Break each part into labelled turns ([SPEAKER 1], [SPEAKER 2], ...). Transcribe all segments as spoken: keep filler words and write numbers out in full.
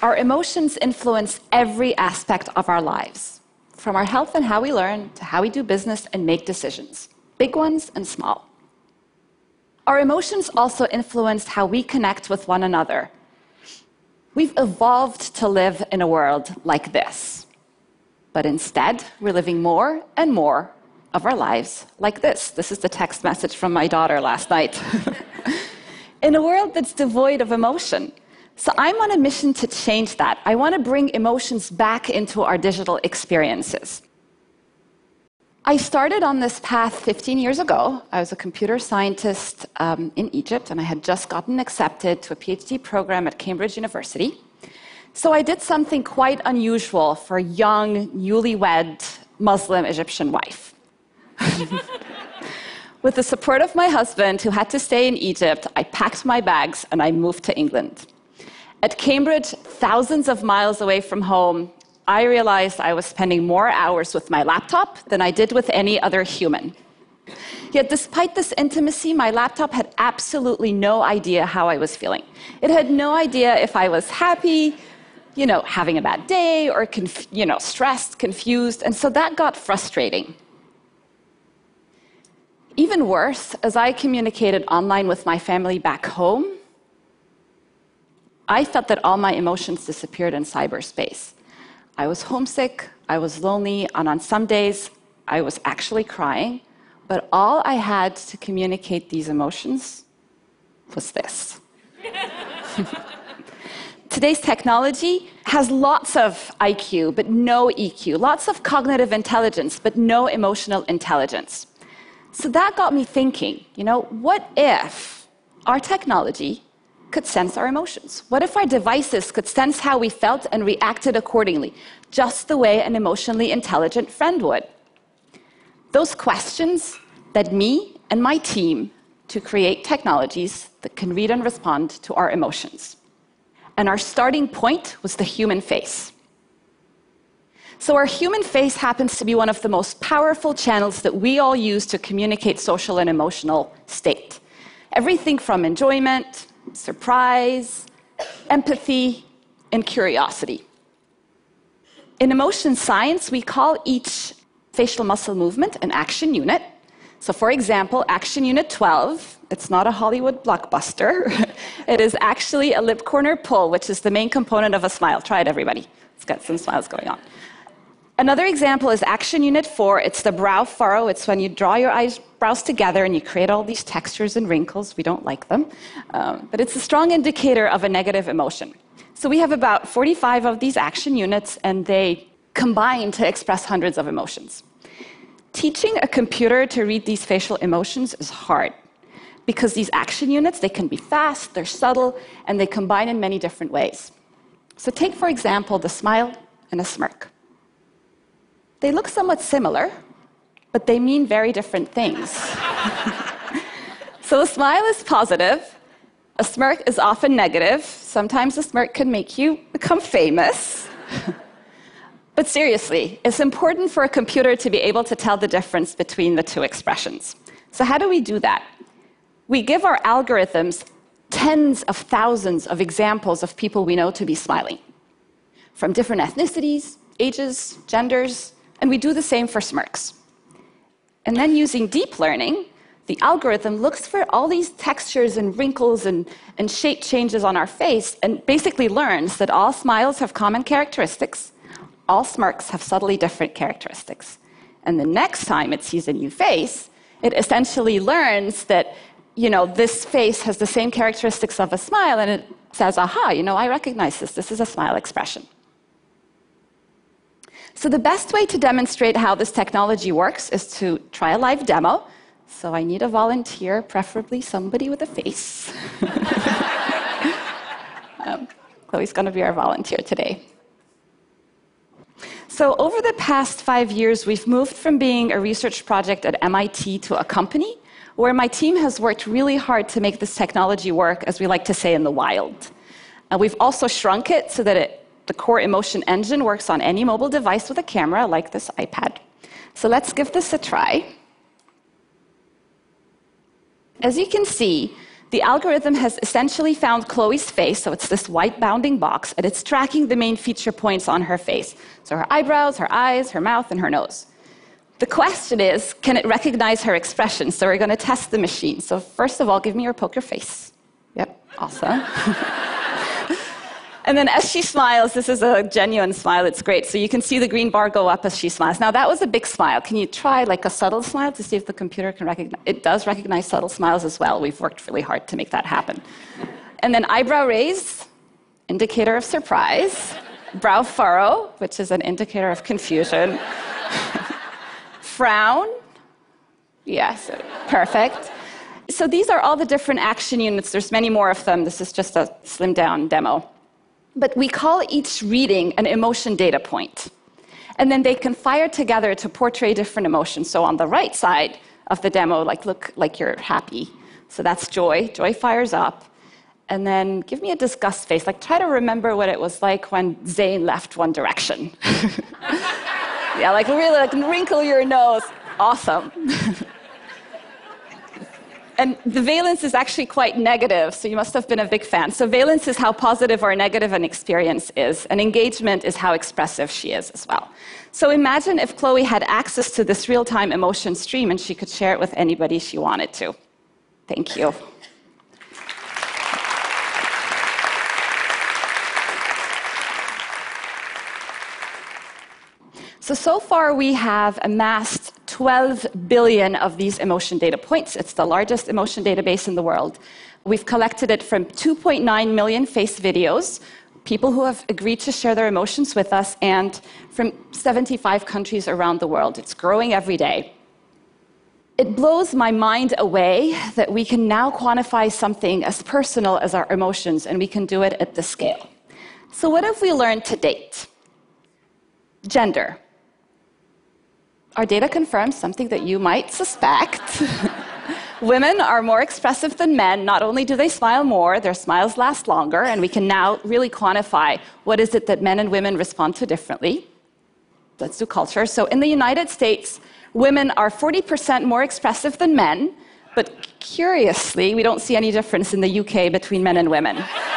[SPEAKER 1] our emotions influence every aspect of our lives, from our health and how we learn to how we do business and make decisions, big ones and small. Our emotions also influence how we connect with one another. We've evolved to live in a world like this, but instead, we're living more and more of our lives like this. This is the text message from my daughter last night. In a world that's devoid of emotion. So I'm on a mission to change that. I want to bring emotions back into our digital experiences. I started on this path fifteen years ago. I was a computer scientist um, in Egypt, and I had just gotten accepted to a PhD program at Cambridge University. So I did something quite unusual for a young, newlywed Muslim Egyptian wife. With the support of my husband, who had to stay in Egypt, I packed my bags and I moved to England. At Cambridge, thousands of miles away from home, I realized I was spending more hours with my laptop than I did with any other human. Yet despite this intimacy, my laptop had absolutely no idea how I was feeling. It had no idea if I was happy, you know, having a bad day, or conf- you know, stressed, confused, and so that got frustrating. Even worse, as I communicated online with my family back home, I felt that all my emotions disappeared in cyberspace. I was homesick, I was lonely, and on some days, I was actually crying, but all I had to communicate these emotions was this. Today's technology has lots of I Q, but no E Q, lots of cognitive intelligence, but no emotional intelligence. So that got me thinking, you know, what if our technology could sense our emotions? What if our devices could sense how we felt and reacted accordingly, just the way an emotionally intelligent friend would? Those questions led me and my team to create technologies that can read and respond to our emotions. And our starting point was the human face. So our human face happens to be one of the most powerful channels that we all use to communicate social and emotional state. Everything from enjoyment, surprise, empathy, and curiosity. In emotion science, we call each facial muscle movement an action unit. So for example, action unit twelve, it's not a Hollywood blockbuster. It is actually a lip corner pull, which is the main component of a smile. Try it, everybody. It's got some smiles going on. Another example is action unit four. It's the brow furrow. It's when you draw your eyebrows together and you create all these textures and wrinkles. We don't like them. Um, but it's a strong indicator of a negative emotion. So we have about forty-five of these action units, and they combine to express hundreds of emotions. Teaching a computer to read these facial emotions is hard, because these action units, they can be fast, they're subtle, and they combine in many different ways. So take, for example, the smile and a smirk. They look somewhat similar, but they mean very different things. So a smile is positive, a smirk is often negative. Sometimes a smirk can make you become famous. But seriously, it's important for a computer to be able to tell the difference between the two expressions. So how do we do that? We give our algorithms tens of thousands of examples of people we know to be smiling, from different ethnicities, ages, genders, and we do the same for smirks. And then using deep learning, the algorithm looks for all these textures and wrinkles and, and shape changes on our face and basically learns that all smiles have common characteristics, all smirks have subtly different characteristics. And the next time it sees a new face, it essentially learns that, you know, this face has the same characteristics of a smile, and it says, aha, you know, I recognize this. This is a smile expression. So the best way to demonstrate how this technology works is to try a live demo. So I need a volunteer, preferably somebody with a face. um, Chloe's going to be our volunteer today. So over the past five years, we've moved from being a research project at M I T to a company where my team has worked really hard to make this technology work, as we like to say, in the wild. Uh, we've also shrunk it so that it the core emotion engine works on any mobile device with a camera, like this iPad. So let's give this a try. As you can see, The algorithm has essentially found Chloe's face, so it's this white bounding box, and it's tracking the main feature points on her face. So her eyebrows, her eyes, her mouth, and her nose. The question is, can it recognize her expression? So we're going to test the machine. So first of all, give me your poker face. Yep, awesome. And then as she smiles, this is a genuine smile, it's great. So you can see the green bar go up as she smiles. Now that was a big smile. Can you try like a subtle smile to see if the computer can recognize? It does recognize subtle smiles as well. We've worked really hard to make that happen. And then eyebrow raise, indicator of surprise. Brow furrow, which is an indicator of confusion. Frown, yes, perfect. So these are all the different action units. There's many more of them. This is just a slimmed down demo. But we call each reading an emotion data point. And then they can fire together to portray different emotions. So on the right side of the demo, like look like you're happy. So that's joy. Joy fires up. And then give me a disgust face. Like try to remember what it was like when Zayn left One Direction. Yeah, like really like wrinkle your nose. Awesome. And the valence is actually quite negative, so you must have been a big fan. So valence is how positive or negative an experience is, and engagement is how expressive she is as well. So imagine if Chloe had access to this real-time emotion stream and she could share it with anybody she wanted to. Thank you. So, so far we have amassed twelve billion of these emotion data points. It's the largest emotion database in the world. We've collected it from two point nine million face videos, people who have agreed to share their emotions with us, and from seventy-five countries around the world. It's growing every day. It blows my mind away that we can now quantify something as personal as our emotions, and we can do it at this scale. So what have we learned to date? Gender. Our data confirms something that you might suspect. Women are more expressive than men. Not only do they smile more, their smiles last longer, and we can now really quantify what is it that men and women respond to differently. Let's do culture. So in the United States, women are forty percent more expressive than men, but curiously, we don't see any difference in the U K between men and women.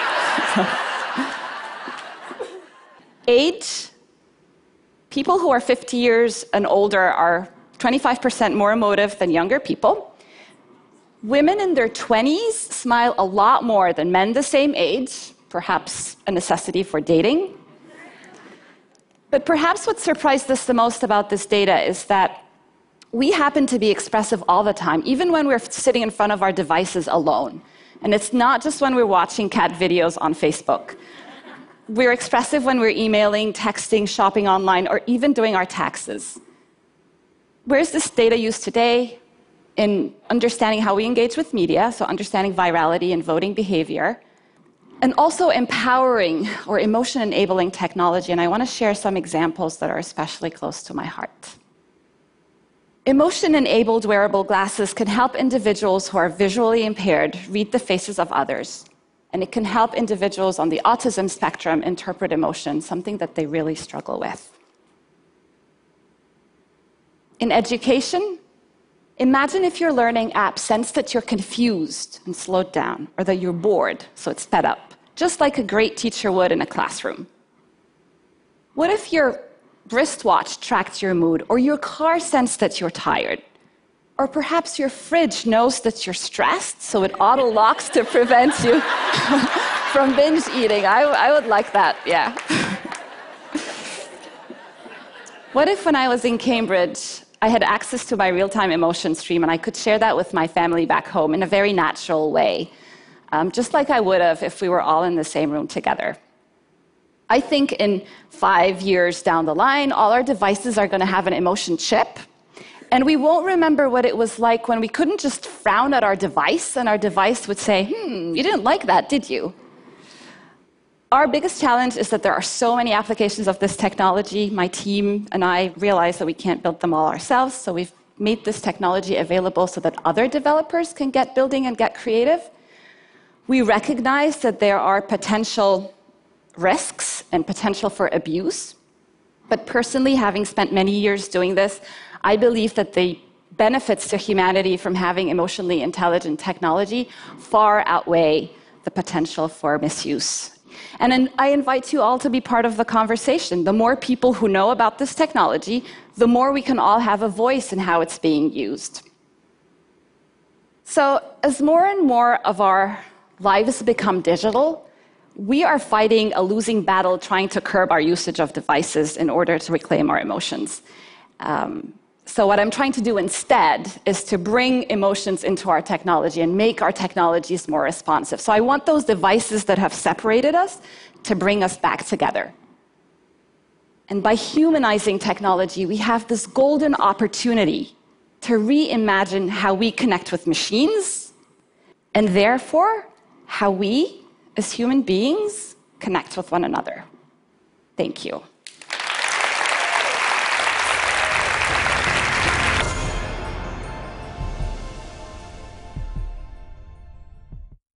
[SPEAKER 1] Age. People who are fifty years and older are twenty-five percent more emotive than younger people. Women in their twenties smile a lot more than men the same age, perhaps a necessity for dating. But perhaps what surprised us the most about this data is that we happen to be expressive all the time, even when we're sitting in front of our devices alone. And it's not just when we're watching cat videos on Facebook. We're expressive when we're emailing, texting, shopping online, or even doing our taxes. Where's this data used today? In understanding how we engage with media, so understanding virality and voting behavior, and also empowering or emotion-enabling technology. And I want to share some examples that are especially close to my heart. Emotion-enabled wearable glasses can help individuals who are visually impaired read the faces of others. And it can help individuals on the autism spectrum interpret emotion, something that they really struggle with. In education, imagine if your learning app sensed that you're confused and slowed down, or that you're bored, so it sped up, just like a great teacher would in a classroom. What if your wristwatch tracked your mood, or your car sensed that you're tired? Or perhaps your fridge knows that you're stressed, so it auto-locks to prevent you from binge eating. I, I would like that, yeah. What if when I was in Cambridge, I had access to my real-time emotion stream and I could share that with my family back home in a very natural way, um, just like I would have if we were all in the same room together? I think in five years down the line, all our devices are going to have an emotion chip. And we won't remember what it was like when we couldn't just frown at our device and our device would say, hmm, you didn't like that, did you? Our biggest challenge is that there are so many applications of this technology. My team and I realize that we can't build them all ourselves, so we've made this technology available so that other developers can get building and get creative. We recognize that there are potential risks and potential for abuse. But personally, having spent many years doing this, I believe that the benefits to humanity from having emotionally intelligent technology far outweigh the potential for misuse. And then I invite you all to be part of the conversation. The more people who know about this technology, the more we can all have a voice in how it's being used. So as more and more of our lives become digital, we are fighting a losing battle trying to curb our usage of devices in order to reclaim our emotions. Um, so what I'm trying to do instead is to bring emotions into our technology and make our technologies more responsive. So I want those devices that have separated us to bring us back together. And by humanizing technology, we have this golden opportunity to reimagine how we connect with machines, and therefore how we, as human beings, connect with one another. Thank you.